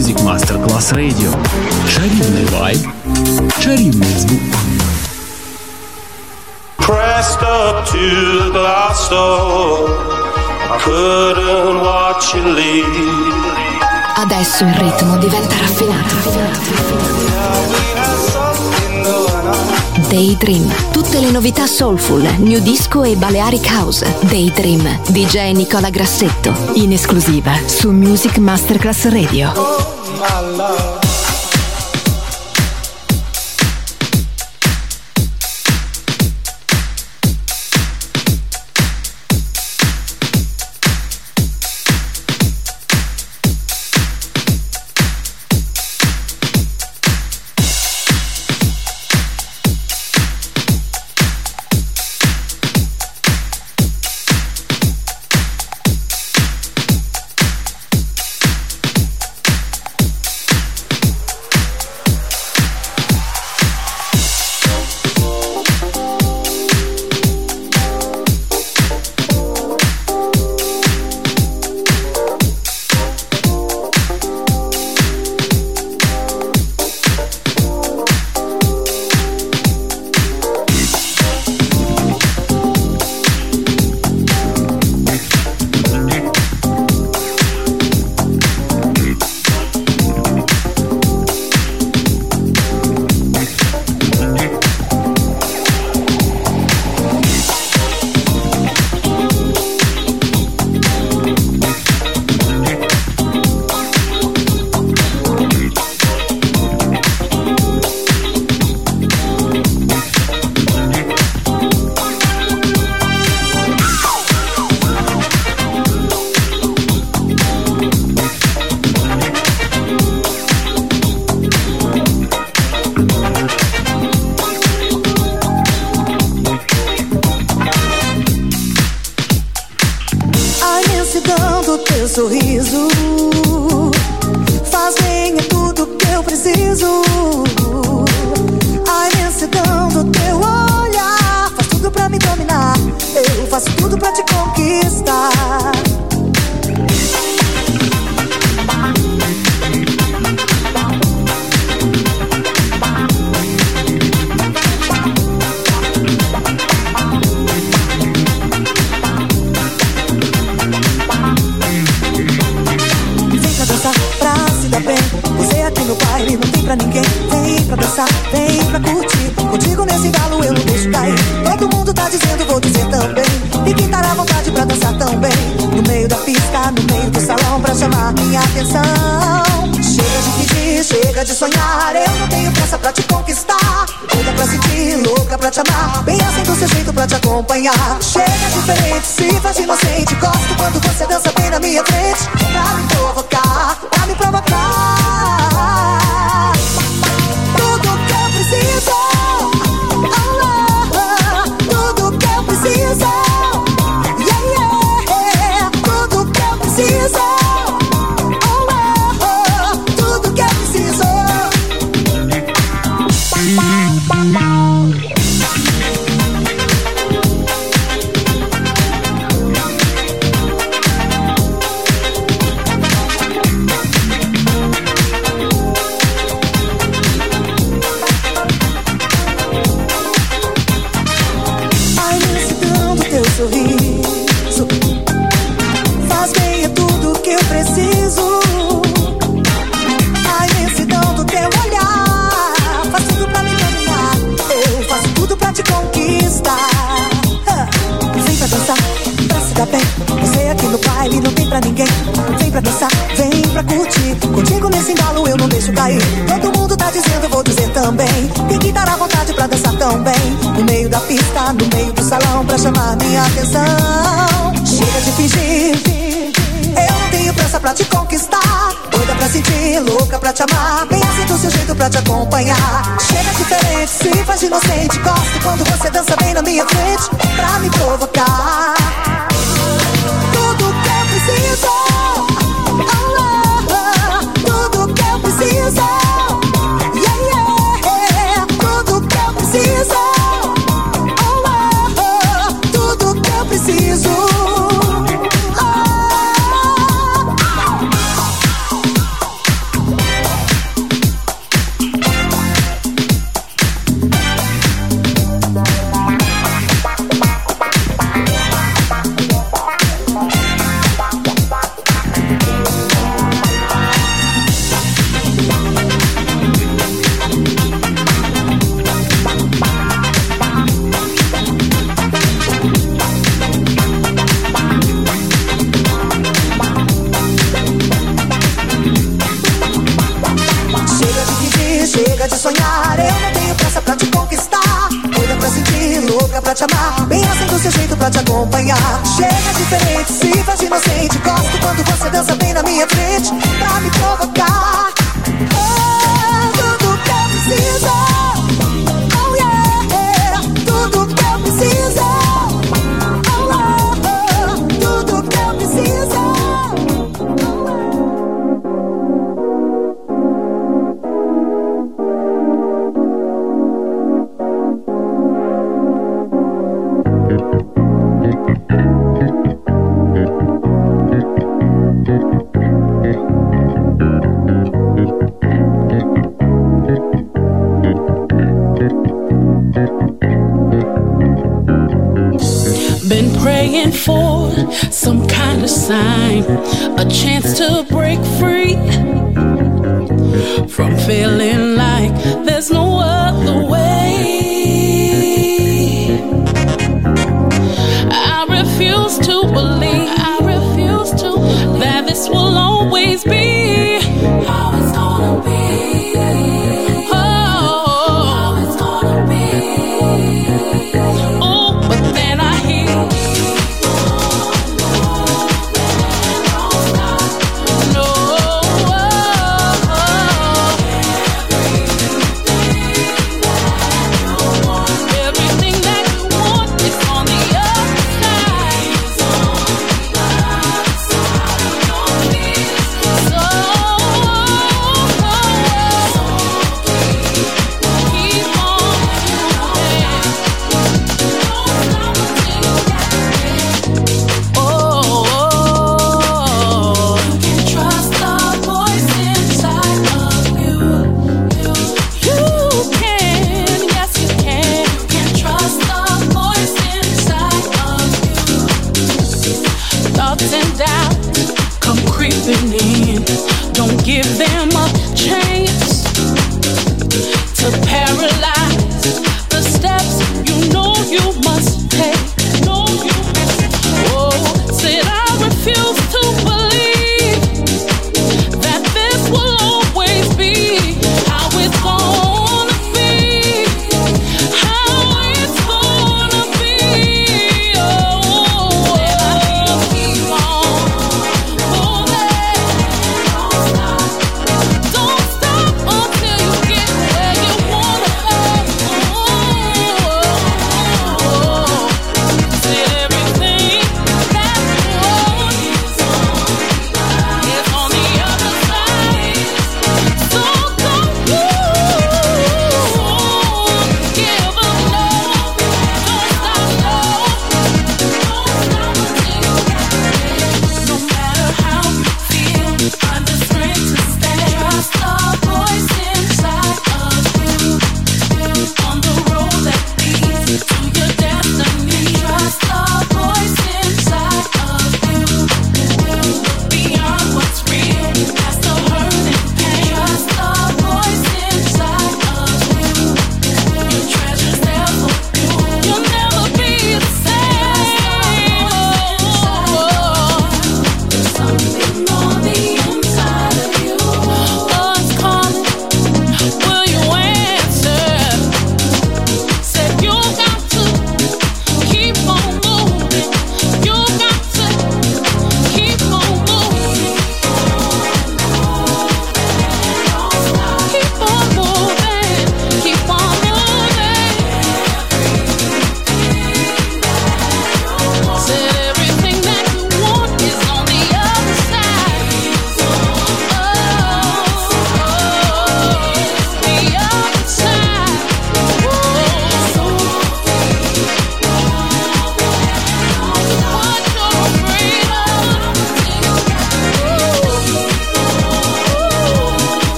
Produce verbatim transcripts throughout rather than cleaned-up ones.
Music Masterclass Radio. Чарівний вайб, чарівний звук. Pressed up to the glass door, I couldn't watch you leave. Adesso il ritmo diventa raffinato. Daydream, tutte le novità soulful, new disco e Balearic House. Daydream, D J Nicola Grassetto, in esclusiva su Music Masterclass Radio. Oh, my love. Sorriso faz bem, é tudo que eu preciso. A imensidão do teu olhar faz tudo pra me dominar. Eu faço tudo pra te conquistar. No baile não tem pra ninguém. Vem pra dançar, vem pra curtir. Contigo nesse embalo eu não deixo cair. Todo mundo tá dizendo, vou dizer também. Ninguém tá à vontade pra dançar tão bem. No meio da pista, no meio do salão, pra chamar minha atenção. Chega de pedir, chega de sonhar. Eu não tenho pressa pra te conquistar. Doida pra sentir, louca pra te amar. Bem assim do seu jeito pra te acompanhar. Chega diferente, se faz inocente. Gosto quando você dança bem na minha frente. Pra me provocar, pra me provocar. Tudo que eu preciso, oh, oh, tudo que eu preciso, yeah, yeah, tudo que eu preciso, oh, oh, tudo que eu preciso. Sorriso faz bem, é tudo que eu preciso. A imensidão do teu olhar faz tudo pra me dominar. Eu faço tudo pra te conquistar. Vem pra dançar, pra se dar bem. Você aqui no baile não tem pra ninguém. Vem pra dançar, vem pra curtir. Contigo nesse embalo eu não deixo cair. Todo mundo tá dizendo, vou dizer também. Tem que dar à vontade pra dançar tão bem. No meio da pista, no meio do salão, pra chamar minha atenção. Chega de fingir, eu não tenho pressa pra te conquistar. Doida pra sentir, louca pra te amar. Bem assim do seu jeito pra te acompanhar. Chega diferente, se faz inocente. Gosto quando você dança bem na minha frente. Pra me provocar. Tudo que eu preciso, oh, oh, oh, tudo que eu preciso, yeah, yeah, tudo que eu preciso, oh, oh, oh, tudo que eu preciso. Oh. pressa pra te conquistar, doida pra sentir, louca pra te amar, bem assim do seu jeito pra te acompanhar. Chega diferente, se faz inocente, gosto quando você dança bem na minha frente, pra me provocar. Oh, tudo que eu preciso, oh yeah, tudo que eu preciso, oh, oh, oh, tudo que eu preciso. Been praying for some kind of sign, a chance to break free from feeling like there's no other way. I refuse to believe, I refuse to believe that this will always be how it's gonna be. Oh, how it's gonna be. Oh, but then I hear no,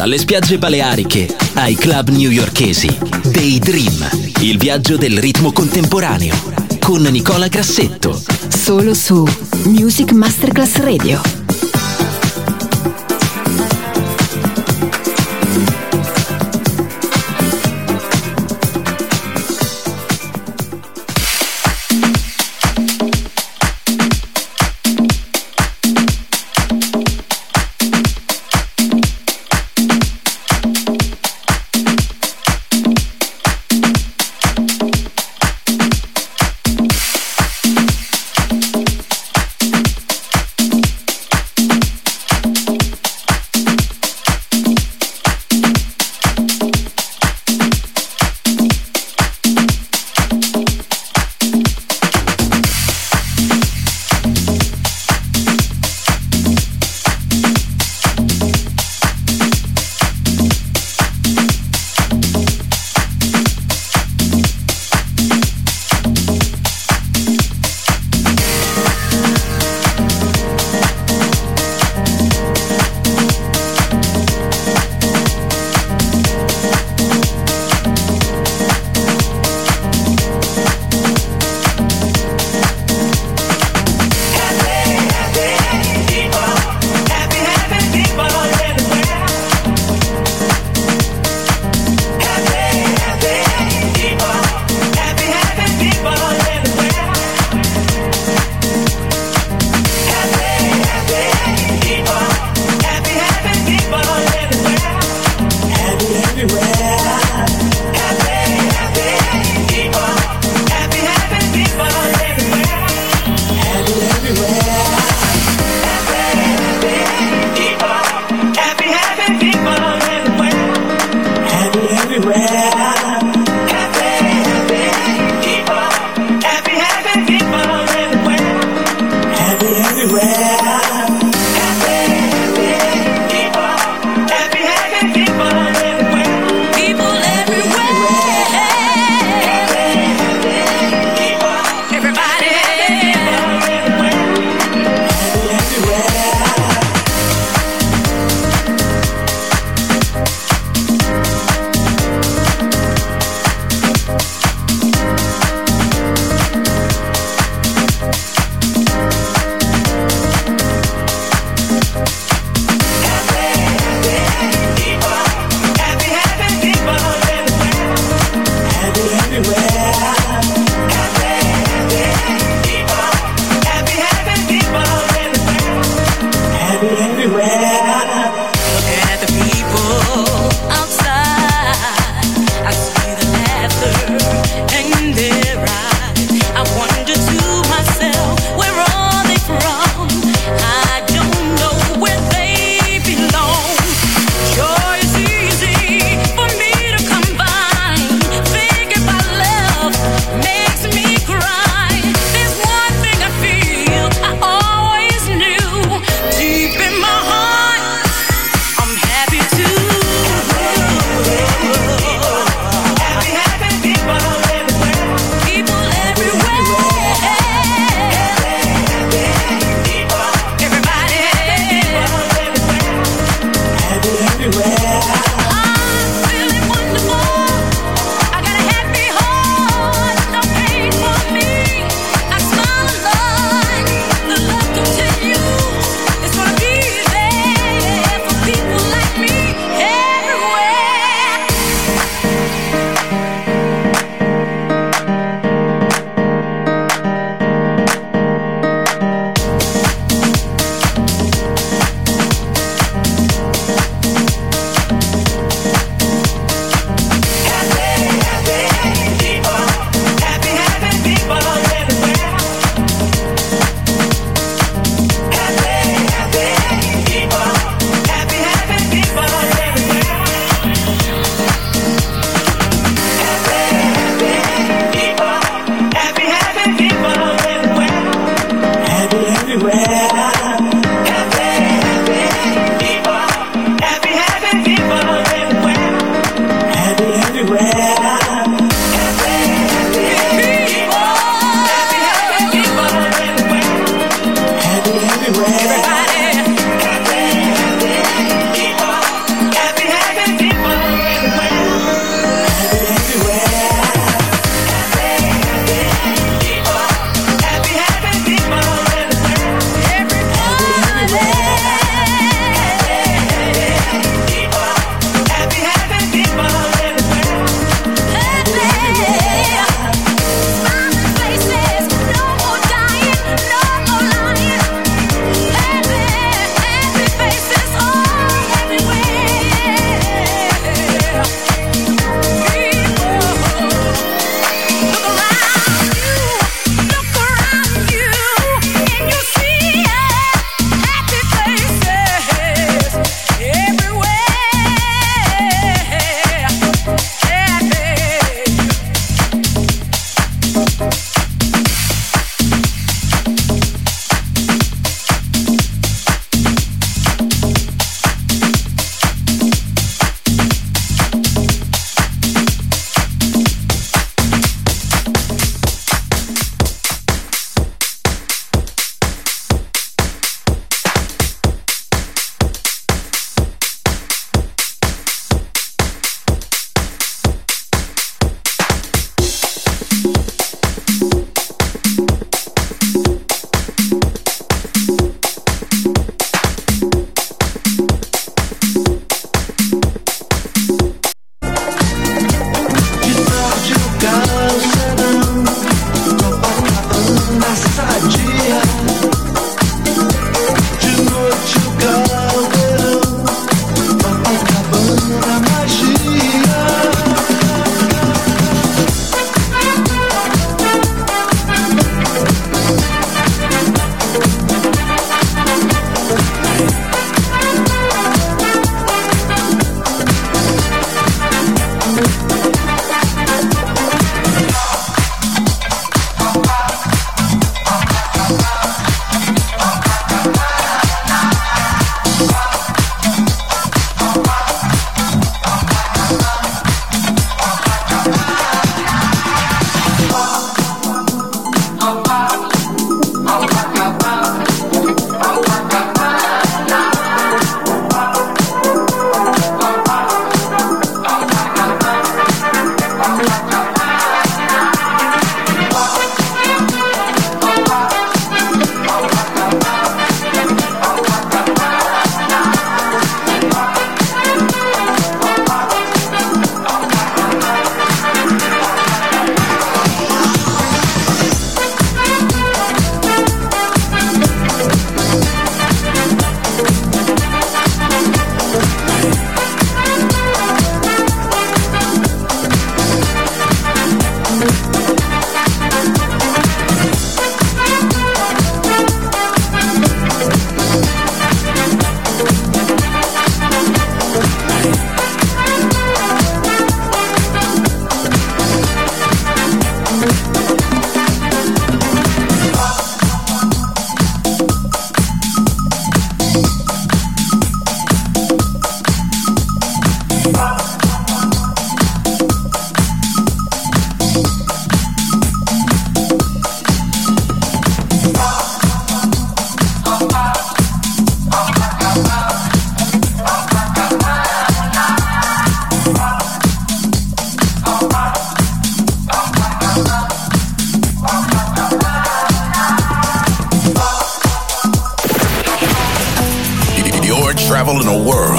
Dalle spiagge baleariche ai club newyorkesi. Daydream, il viaggio del ritmo contemporaneo. Con Nicola Grassetto. Solo su Music Masterclass Radio.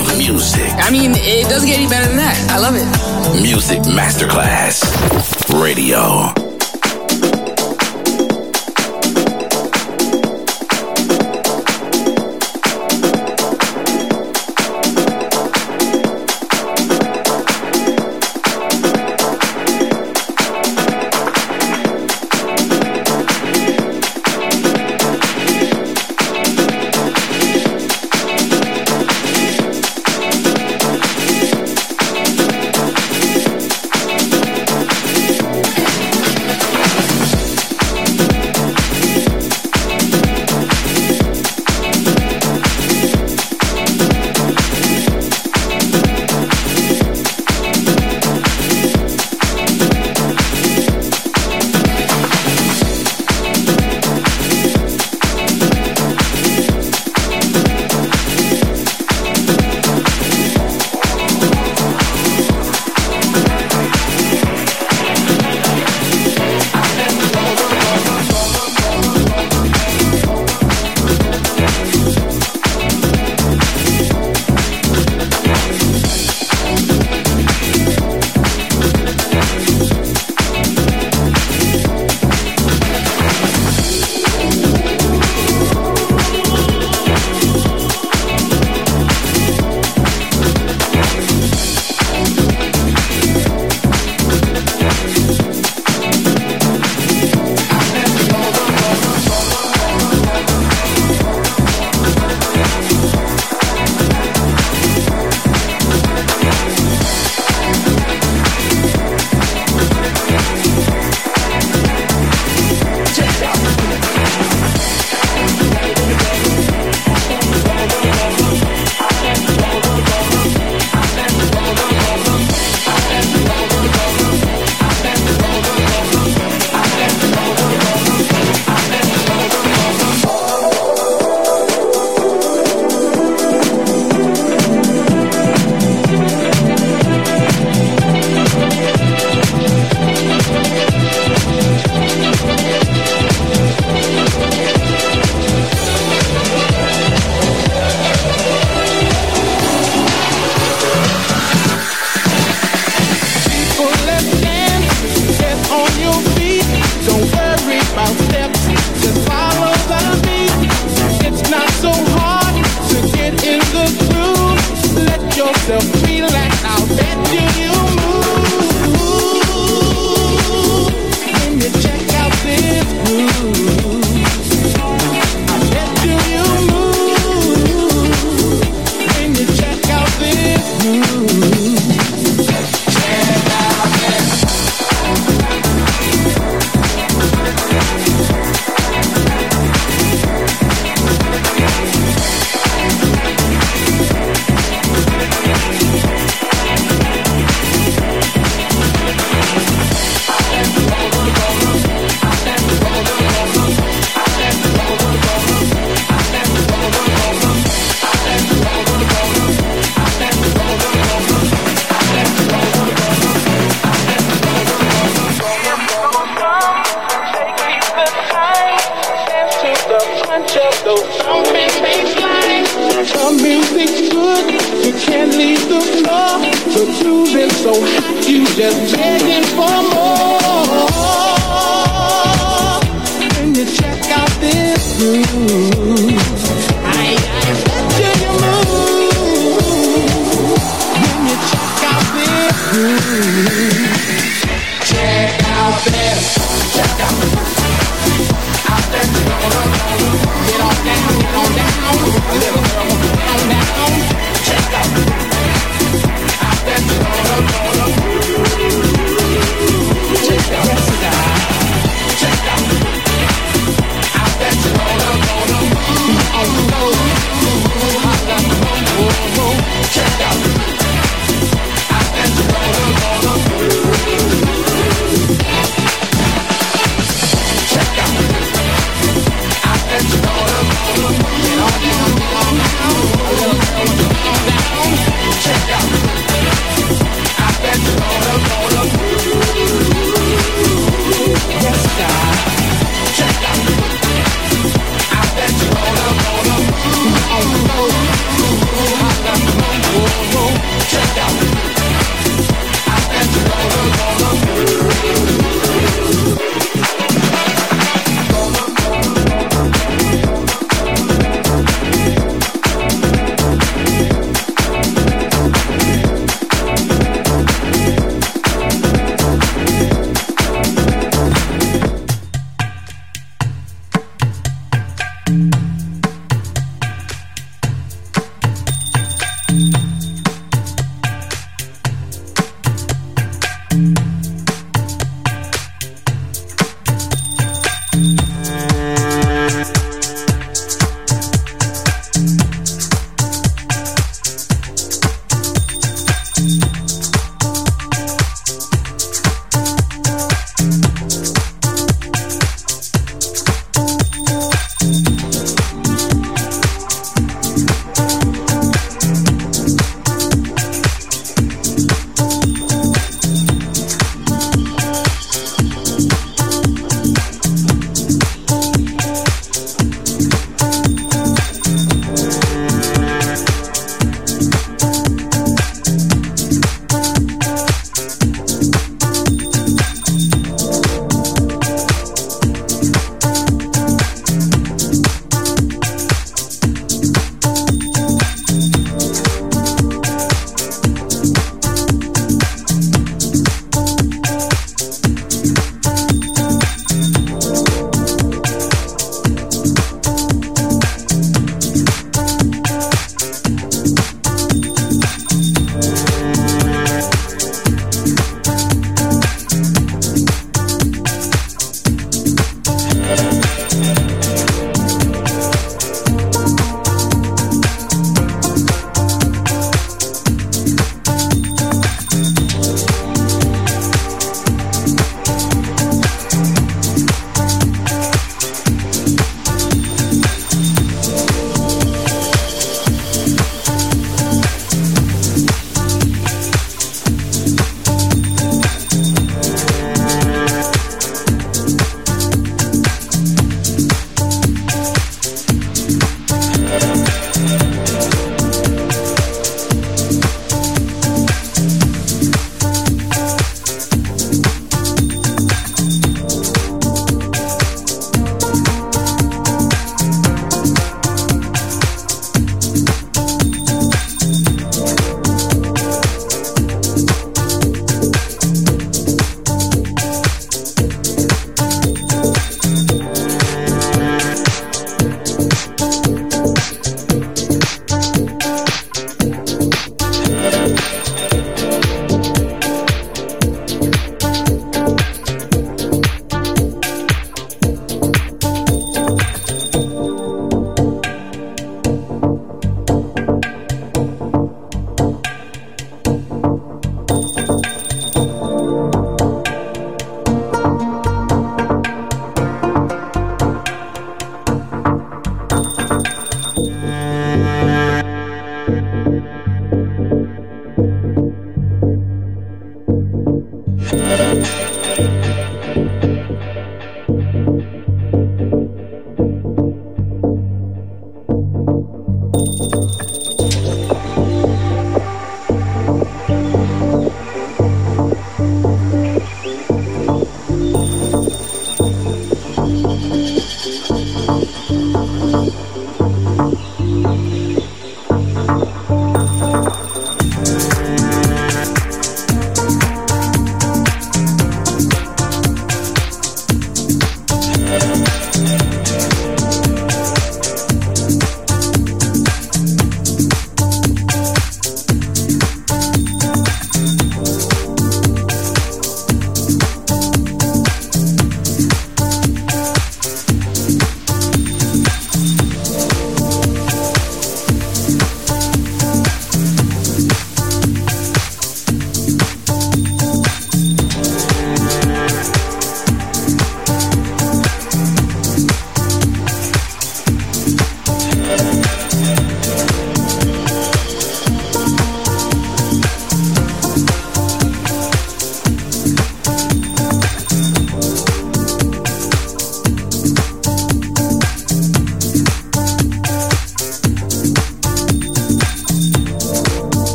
love music. I mean, it doesn't get any better than that. I love it. Music Masterclass Radio.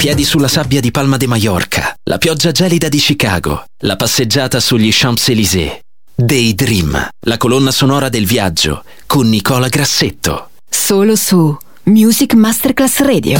piedi sulla sabbia di Palma de Mallorca, la pioggia gelida di Chicago, la passeggiata sugli Champs-Élysées. Daydream, la colonna sonora del viaggio con Nicola Grassetto. Solo su Music Masterclass Radio.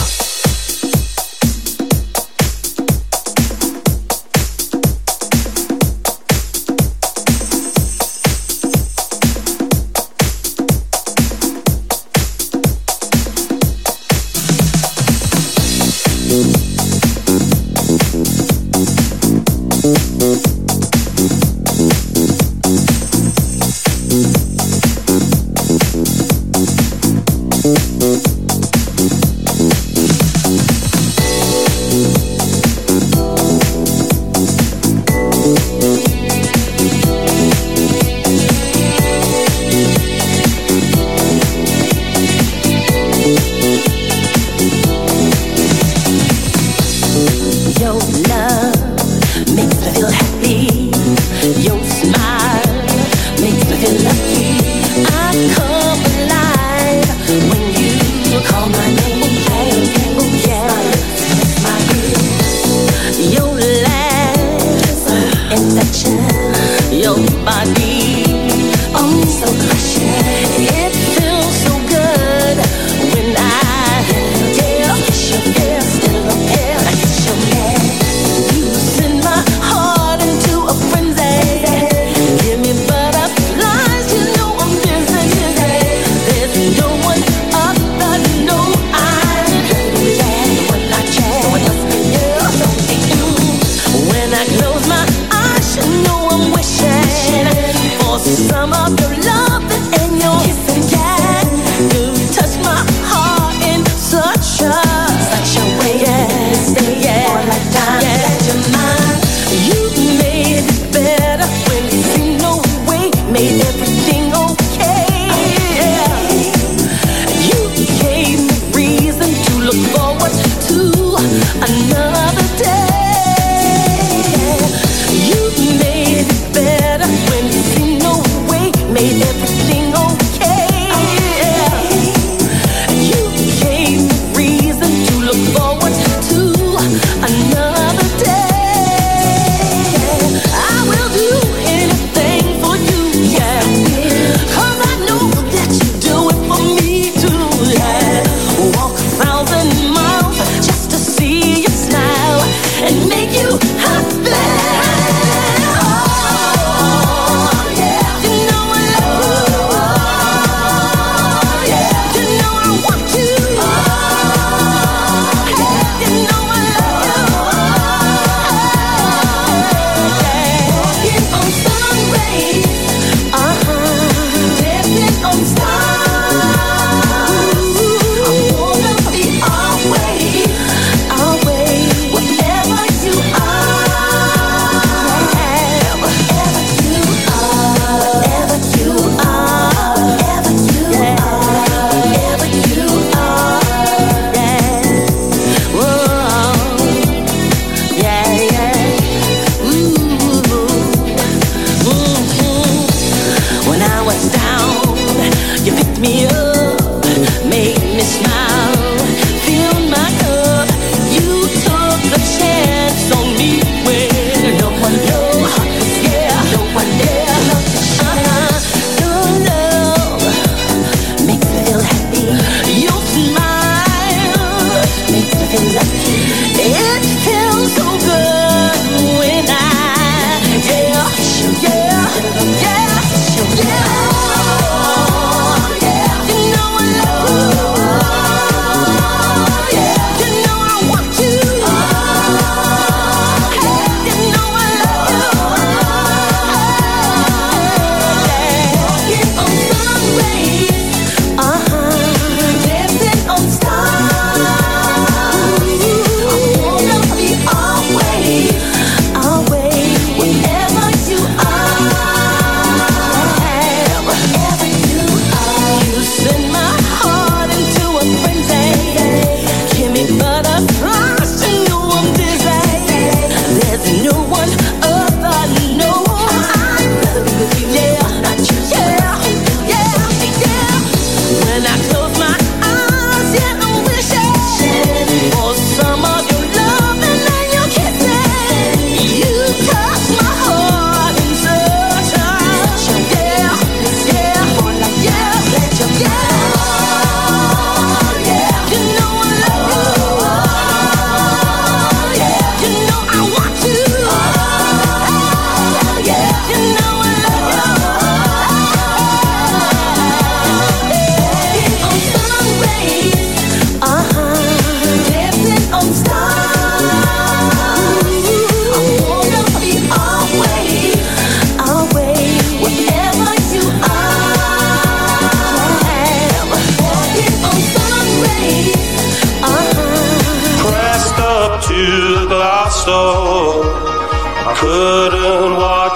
Another day.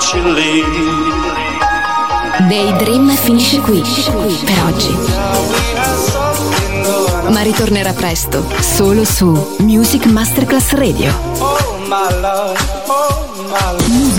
watch you leave. Daydream finisce qui per oggi, ma ritornerà presto solo su Music Masterclass Radio. Oh my love, oh my love.